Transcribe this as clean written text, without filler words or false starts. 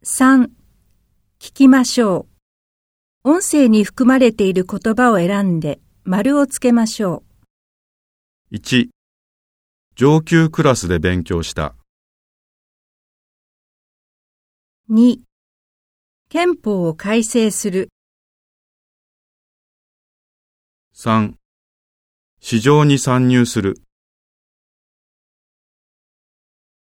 3、聞きましょう。音声に含まれている言葉を選んで丸をつけましょう。1、上級クラスで勉強した。 2、憲法を改正する。 3、市場に参入する。